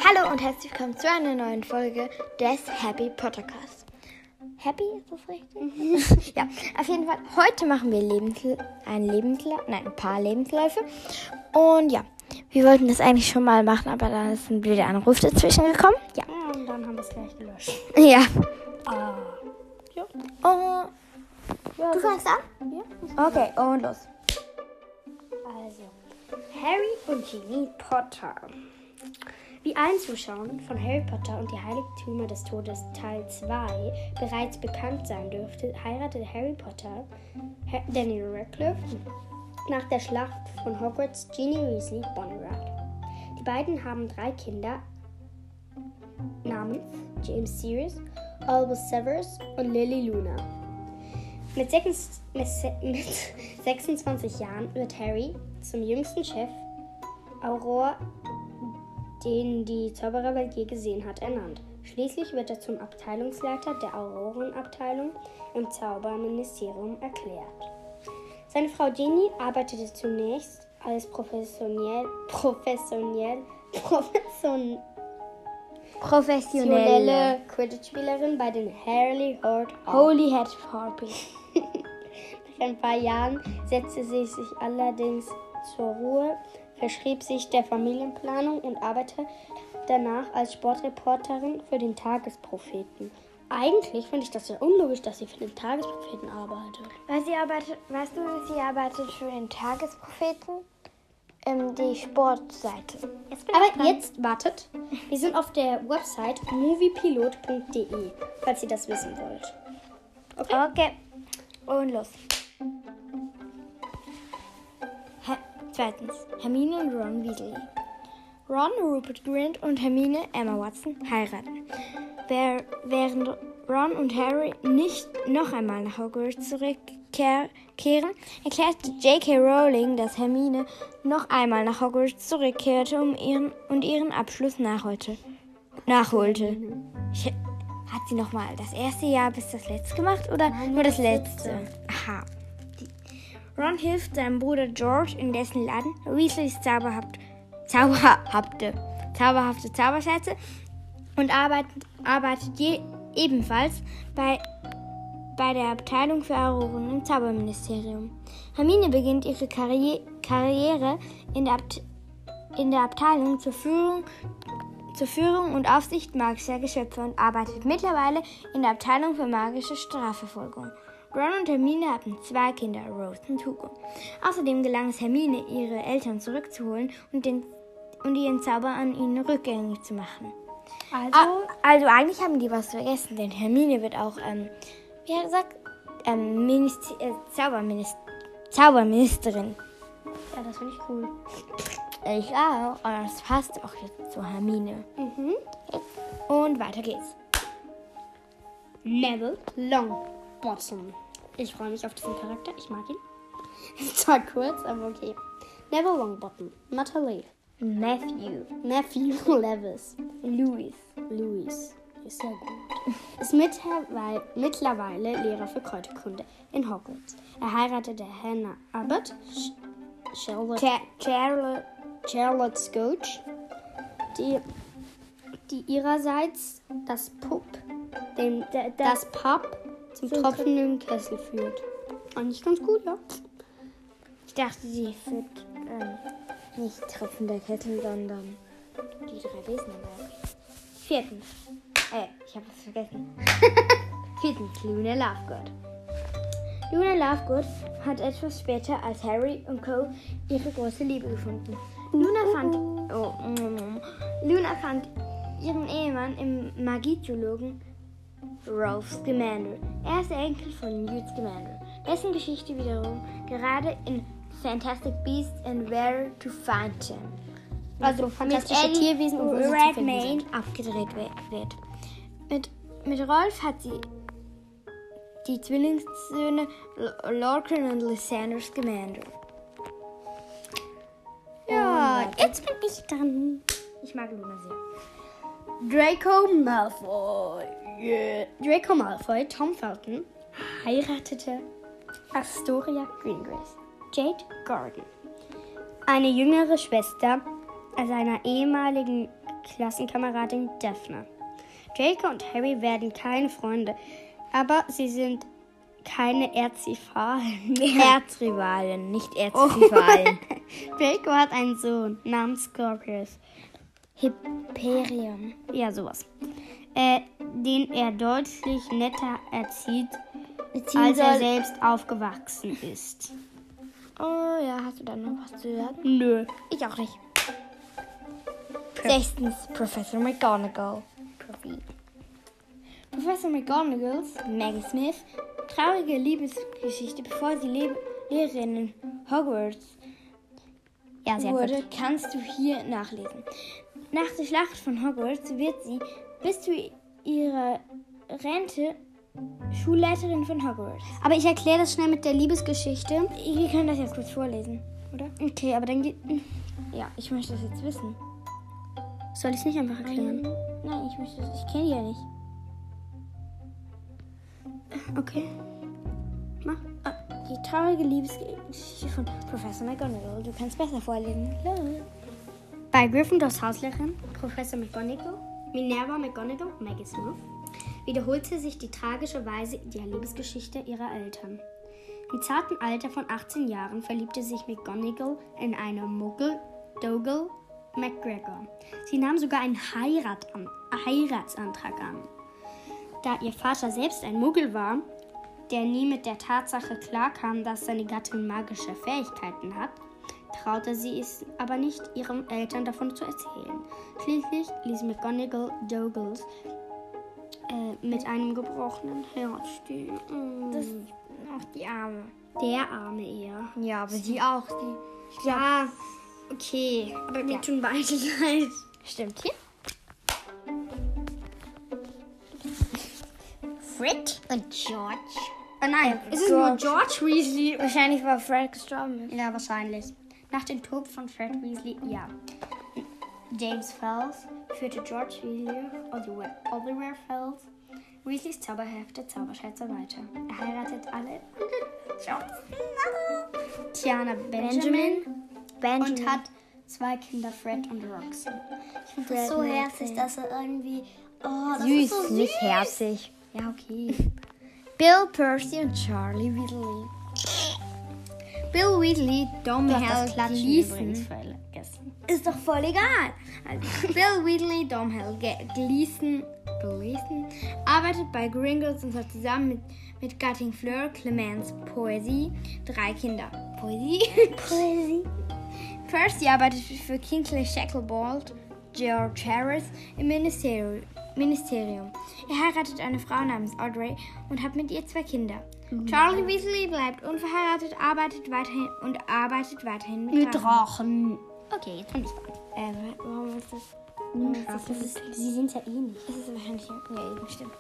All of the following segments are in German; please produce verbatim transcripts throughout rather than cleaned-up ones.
Hallo und herzlich willkommen zu einer neuen Folge des Happy Pottercast. Happy, ist das richtig? Ja, auf jeden Fall. Heute machen wir Lebensl- ein Lebenslauf, nein, ein paar Lebensläufe. Und ja, wir wollten das eigentlich schon mal machen, aber da ist ein blöder Anruf dazwischen gekommen. Ja. Ja, und dann haben wir es gleich gelöscht. Ja. Ah. Ja. Und Ja, du fängst an? Ja. Okay, und los. Also, Harry und Ginny Potter. Wie allen Zuschauern von Harry Potter und die Heiligtümer des Todes Teil zwei bereits bekannt sein dürfte, heiratete Harry Potter ha- Daniel Radcliffe nach der Schlacht von Hogwarts Ginny Weasley Bonnerat. Die beiden haben drei Kinder namens James Sirius, Albus Severus und Lily Luna. Mit, sechs, mit, se- mit sechsundzwanzig Jahren wird Harry zum jüngsten Chef Auror, den die Zaubererwelt je gesehen hat, ernannt. Schließlich wird er zum Abteilungsleiter der Aurorenabteilung im Zauberministerium erklärt. Seine Frau Ginny arbeitete zunächst als professionell, professionell, profession, professionelle Quidditch-Spielerin bei den Harley Horde Holy Head Harpies. Nach ein paar Jahren setzte sie sich allerdings zur Ruhe, verschrieb sich der Familienplanung und arbeitete danach als Sportreporterin für den Tagespropheten. Eigentlich finde ich das ja unlogisch, dass sie für den Tagespropheten arbeitet. Weil sie arbeitet, weißt du, sie arbeitet für den Tagespropheten, ähm, die Sportseite. Aber jetzt, wartet, wir sind auf der Website moviepilot punkt de, falls ihr das wissen wollt. Okay? Okay, und los. Her- Zweitens, Hermine und Ron Weasley. Ron, Rupert Grint und Hermine, Emma Watson, heiraten. Wer- Während Ron und Harry nicht noch einmal nach Hogwarts zurückkehren, erklärte J K. Rowling, dass Hermine noch einmal nach Hogwarts zurückkehrte um ihren, und ihren Abschluss nachholte. nachholte. Ich, hat sie noch mal das erste Jahr bis das letzte gemacht oder Nein, nur das das letzte? letzte. Aha. Ron hilft seinem Bruder George in dessen Laden Weasleys zauberhaft, zauberhafte, zauberhafte Zauberschätze und arbeitet, arbeitet je, ebenfalls bei, bei der Abteilung für Auroren im Zauberministerium. Hermine beginnt ihre Karriere, Karriere in, der Abt, in der Abteilung zur Führung, zur Führung und Aufsicht magischer Geschöpfe und arbeitet mittlerweile in der Abteilung für magische Strafverfolgung. Ron und Hermine haben zwei Kinder, Rose und Hugo. Außerdem gelang es Hermine, ihre Eltern zurückzuholen und, den, und ihren Zauber an ihnen rückgängig zu machen. Also, Ah, also eigentlich haben die was vergessen, denn Hermine wird auch, ähm, wie hat er gesagt, ähm, Minister, äh, Zauberminister, Zauberministerin. ja, das finde ich cool. Ich auch. Und das passt auch jetzt zu Hermine. Mhm. Und weiter geht's. Neville Longbottom. Ich freue mich auf diesen Charakter. Ich mag ihn. Zwar kurz, aber okay. Neville Longbottom. Natalie. Matthew. Matthew Levis. Louis. Louis. Ist ja gut. Ist mittlerweile, mittlerweile Lehrer für Kräuterkunde in Hogwarts. Er heiratete Hannah Abbott, Sh- Charlotte, Cha- Charlotte. Charlotte Scotch, die, die ihrerseits das Pup, den, Da- da- das Pub zum zum tropfenden Kessel führt. Eigentlich ganz gut, ja. Ich dachte, sie führt ähm, nicht tropfender Kessel, sondern die drei Besen am Berg. Viertens. Äh, ich habe es vergessen. Viertens, Luna Lovegood. Luna Lovegood hat etwas später als Harry und Co. ihre große Liebe gefunden. Luna fand, oh, mm, Luna fand ihren Ehemann im Magietheologen Ralph Scamander. Er ist der Enkel von Newt Scamander, dessen Geschichte wiederum gerade in Fantastic Beasts and Where to Find Them, Also mit fantastische Eddie Tierwesen und wo sie zu finden Redmayne sind. abgedreht we- wird. Mit, mit Rolf hat sie die Zwillingssöhne L- Lorcan und Lysander Scamander. Ja, Und jetzt bin ich dran. ich mag Luna sehr. Draco Malfoy. Yeah. Draco Malfoy, Tom Felton, heiratete Astoria Greengrass, Jade Gordon, eine jüngere Schwester seiner ehemaligen Klassenkameradin Daphne. Draco und Harry werden keine Freunde, aber sie sind keine Erzrivalen mehr. Erzrivalen, nicht Erzrivalen. Draco hat einen Sohn namens Scorpius. Hyperion. Ja, sowas. Äh, den er deutlich netter erzieht, Erziehen als er soll. selbst aufgewachsen ist. Oh ja, hast du da noch was zu sagen? Nö. Ich auch nicht. Sechstens, Professor McGonagall. Professor McGonagalls, Maggie Smith, traurige Liebesgeschichte, bevor sie Le- Lehrerin in Hogwarts Ja, sehr wurde, gut. kannst du hier nachlesen. Nach der Schlacht von Hogwarts wird sie bis zu ihrer Rente Schulleiterin von Hogwarts. Aber ich erkläre das schnell mit der Liebesgeschichte. Wir können das jetzt kurz vorlesen, oder? Okay, aber dann geht... Ja, ich möchte das jetzt wissen. Soll ich es nicht einfach erklären? Nein, nein, ich möchte das... Ich kenne die ja nicht. Okay. Mach. Ah, die traurige Liebesgeschichte von Professor McGonagall. Du kannst besser vorlesen. Los. Bei Gryffindors Hauslehrerin, Professor McGonagall, Minerva McGonagall, Maggie Smith, wiederholte sich die tragische Weise der Liebesgeschichte ihrer Eltern. Im zarten Alter von achtzehn Jahren verliebte sich McGonagall in einen Muggel, Dougal McGregor. Sie nahm sogar einen Heirat an, Heiratsantrag an. Da ihr Vater selbst ein Muggel war, der nie mit der Tatsache klarkam, dass seine Gattin magische Fähigkeiten hat, traute sie es aber nicht, ihren Eltern davon zu erzählen. Schließlich ließ McGonagall Dougals äh, mit einem gebrochenen Herz stehen. Mm. Das ach, die Arme. Der arme eher. Ja, aber sie auch. Die, ich glaub, Ja, okay. Aber mir Ja. tun beide leid. Stimmt hier. Fred und George. Oh nein, Äh, ist es nur George. George Weasley? Wahrscheinlich war Fred gestorben. Ja, wahrscheinlich. Nach dem Tod von Fred Weasley, ja. James Fels führte George Weasley, Oliver, Oliver Fels, Weasleys zauberhafte Zauberschätze weiter. Er heiratet alle Tiana Benjamin, Benjamin. und hat zwei Kinder, Fred und Roxy. Ich finde Fred das so und herzig, Roxy. dass er irgendwie... Oh, das Süß, ist so süß. nicht herzig. Ja, okay. Bill, Percy und Charlie Weasley. Bill Weasley, Dom Du hast das Hell, Klatschen Gleason. übrigens vergessen. Ist doch voll egal. Also, Bill Weasley, Dom Hell, Ge- Gleason, Gleason arbeitet bei Gringotts und hat zusammen mit, mit Gattin Fleur, Clemence, Poesie drei Kinder. Poesie? Poesie. Percy arbeitet für Kingsley Shacklebolt, George Harris im Ministerium. Ministerium. Er heiratet eine Frau namens Audrey und hat mit ihr zwei Kinder. Charlie Weasley bleibt unverheiratet, arbeitet weiterhin und arbeitet weiterhin mit, Mit Drachen. Drachen. Okay, jetzt bin ich dran. Äh, warum ist das? Warum ist das, das ist, sie sind ja ähnlich. Das ist wahrscheinlich. Ja, eben, stimmt.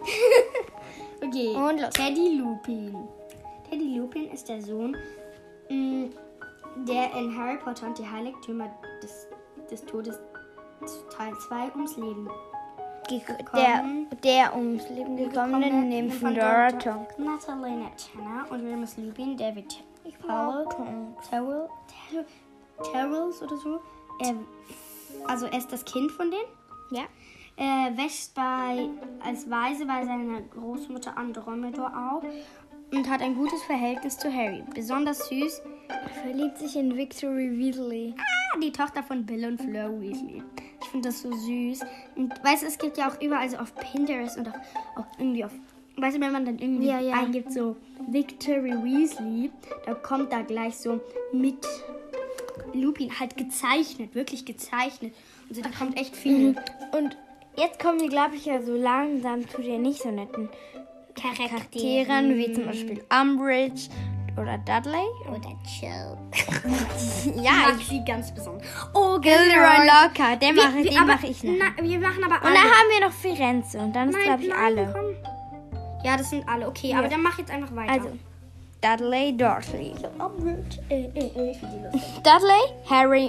Okay. Und los. Teddy Lupin. Teddy Lupin ist der Sohn, mh, der in Harry Potter und die Heiligtümer des, des Todes Teil zwei ums Leben Der, gekommen. der ums Leben gekommene Nymphadora Tonks. Natalie Tanner und Remus Lupin, David Powell, Terrell, Terrell, Terrells oder so. Er, also er ist das Kind von denen. Ja. Er wächst bei, als Waise bei seiner Großmutter Andromeda auf und hat ein gutes Verhältnis zu Harry. Besonders süß. Er verliebt sich in Victory Weasley. Ah, die Tochter von Bill und Fleur Weasley. Ich finde das so süß. Und weißt du, es gibt ja auch überall so auf Pinterest und auch, auch irgendwie auf... Weißt du, wenn man dann irgendwie Ja, ja. eingibt, so Victory Weasley, da kommt da gleich so mit Lupin halt gezeichnet, wirklich gezeichnet. Und so, da kommt echt viel. Und jetzt kommen wir, glaube ich, ja so langsam zu den nicht so netten Charakteren, wie zum Beispiel Umbridge oder Dudley. Oder Chill. Ja, mag ich sie ganz besonders. Oh, Gilderoy Lockhart, den mache Wir- den aber- mach ich noch. Na, wir machen aber Und alle. dann haben wir noch Firenze und dann ist, glaube ich, nein, alle. komm. Ja, das sind alle. Okay, Ja. aber dann mach jetzt einfach weiter. Also, Dudley, Dursley. Umbridge. Äh, äh, äh, ich finde die lustig. Dudley, Harry.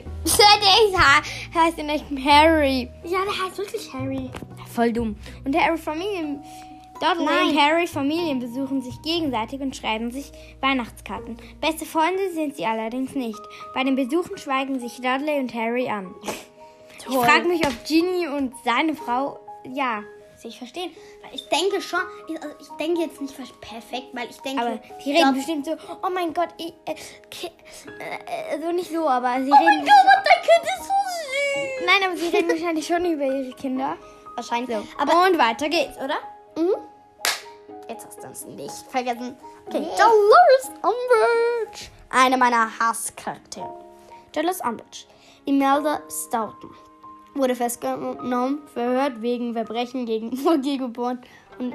Der heißt in echt Harry. Ja, der heißt wirklich Harry. Voll dumm. Und Harry Familien. Dudley Nein. und Harry Familien besuchen sich gegenseitig und schreiben sich Weihnachtskarten. Beste Freunde sind sie allerdings nicht. Bei den Besuchen schweigen sich Dudley und Harry an. Ich frage mich, ob Ginny und seine Frau, ja, sich verstehen. Weil ich denke schon, ich, also ich denke jetzt nicht perfekt, weil ich denke... Aber die reden bestimmt so, oh mein Gott, ich, äh, ki- äh, so nicht so, aber sie Oh reden... mein Gott, dein Kind ist so süß. Nein, aber sie reden wahrscheinlich schon über ihre Kinder. Wahrscheinlich. So. Aber Und weiter geht's, oder? Mhm. Jetzt hast du es nicht vergessen. Okay, Dolores Umbridge. Eine meiner Hasscharaktere. Dolores Umbridge. Imelda Staunton wurde festgenommen, verhört wegen Verbrechen gegen Vorgehgeboren und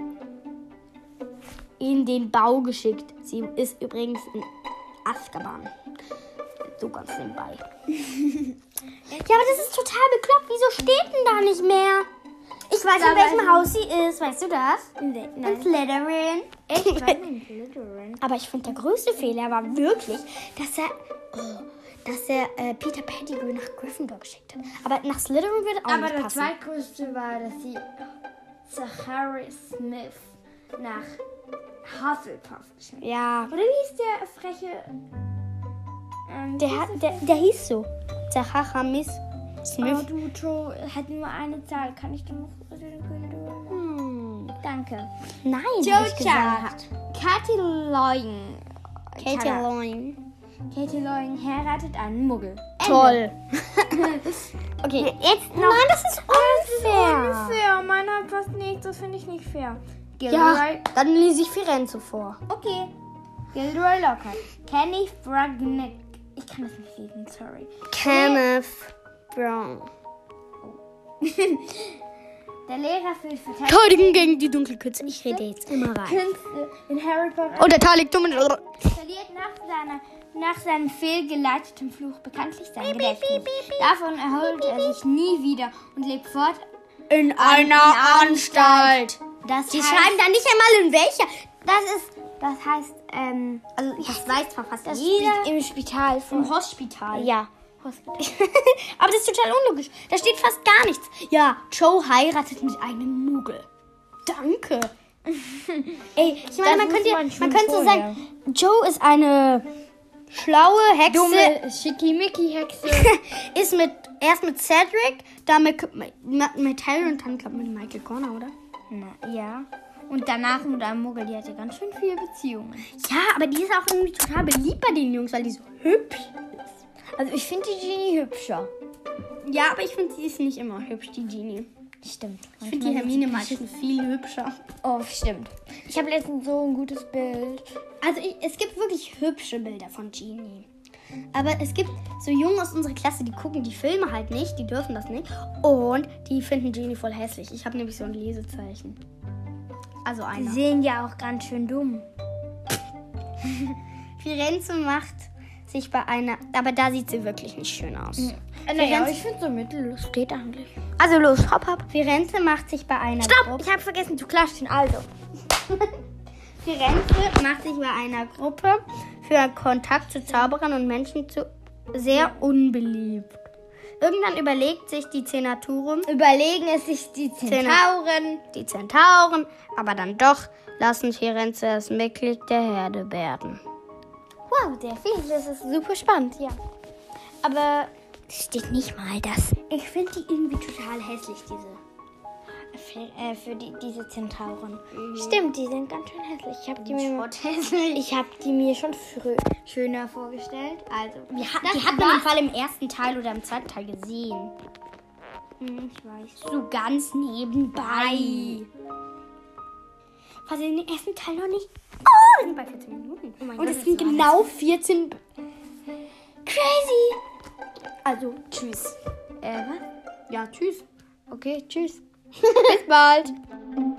in den Bau geschickt. Sie ist übrigens in Azkaban. So ganz nebenbei. Ja, aber das ist total bekloppt. Wieso steht denn da nicht mehr? Ich weiß, Da in welchem weiß Haus sie ist. Weißt du das? Nee, In Slytherin. Echt? Ich weiß nicht, Slytherin. Aber ich finde, der größte Fehler war wirklich, dass er, oh, dass er äh, Peter Pettigrew nach Gryffindor geschickt hat. Aber nach Slytherin würde auch Aber nicht der passen. zweitgrößte war, dass sie Zachary Smith nach Hufflepuff geschickt. Ja, Oder wie hieß der freche... Ähm, der, hat, der, der hieß so. Zachary Miss Oh, Smith. du, Joe, hat nur eine Zahl. Kann ich dann noch... Hm. Danke. Nein, Joe hab ich gesagt. Katie Loyen. Katie Loyen. Katie Loyen heiratet einen Muggel. Toll. Okay, jetzt noch. Nein, das ist unfair. Unfair. Meiner passt nicht. Das finde ich nicht fair. Ja, Gilderoy. dann lese ich Firenze vor. Okay. Gilderoy Lockhart. Kenny Fragnick. Ich kann das nicht lesen, sorry. Kenneth Brown. Der Lehrer für Verteidigung Verteidigen gegen die Dunkelkünste. Ich rede jetzt immer rein. Künste in Harry Potter Oh, der Tal liegt dumm. verliert nach, seiner, nach seinem fehlgeleiteten Fluch bekanntlich sein Gedächtnis. Davon erholt er sich nie wieder und lebt fort. In einer Anstalt. Das Die heißt, schreiben da nicht einmal in welcher. das ist, das heißt, ähm, Also, das weiß zwar fast das jeder. Spi- im Spital Im von Hospital. Ja, Hospital. Aber das ist total unlogisch. Da steht fast gar nichts. Ja, Joe heiratet mit einem Muggel. Danke. Ey, ich meine, Das man könnte, wusste man man schon könnte so vorher. sagen, Joe ist eine schlaue Hexe. Dumme Schickimicki-Hexe. Ist mit, erst mit Cedric, dann mit, mit, mit Harry und dann glaub, mit Michael Connor, oder? Na, ja. Und danach mit einem Muggel, die hatte ganz schön viele Beziehungen. Ja, aber die ist auch irgendwie total beliebt bei den Jungs, weil die so hübsch ist. Also ich finde die Genie hübscher. Ja, aber ich finde, sie ist nicht immer hübsch, die Genie. Stimmt. Ich finde die Hermine meistens viel hübscher. Oh, stimmt. Ich habe letztens so ein gutes Bild. Also ich, es gibt wirklich hübsche Bilder von Genie. Aber es gibt so Jungen aus unserer Klasse, die gucken die Filme halt nicht, die dürfen das nicht. Und die finden Genie voll hässlich. Ich habe nämlich so ein Lesezeichen. Also Die einer. sehen ja auch ganz schön dumm. Firenze macht sich bei einer... Aber da sieht sie wirklich nicht schön aus. Naja, ich finde so mittellos steht eigentlich. Also los, hopp, hopp. Firenze macht sich bei einer Stopp! Gruppe... Ich habe vergessen zu klatschen. Also. Firenze macht sich bei einer Gruppe für Kontakt zu Zauberern und Menschen zu sehr unbeliebt. Irgendwann überlegt sich die Zenaturum, Überlegen es sich die Zentauren. die Zentauren, aber dann doch lassen Firenze das Mitglied der Herde werden. Wow, sehr viel. Das ist super spannend, ja. Aber Es steht nicht mal das. ich finde die irgendwie total hässlich, diese. Für, äh, für die, diese Zentauren. Stimmt, die sind ganz schön hässlich. Ich habe die, mir- ich hab die mir schon früh schöner vorgestellt. Also, Wir ha das die hat man war- im Fall im ersten Teil oder im zweiten Teil gesehen. Hm, ich weiß. So ganz nebenbei. Was in den ersten Teil noch nicht. Oh, wir sind bei vierzehn Minuten. Oh mein Und Gott, es sind das war genau vierzehn... Crazy! Also, tschüss. Äh, was? Ja, tschüss. Okay, tschüss. Bis bald.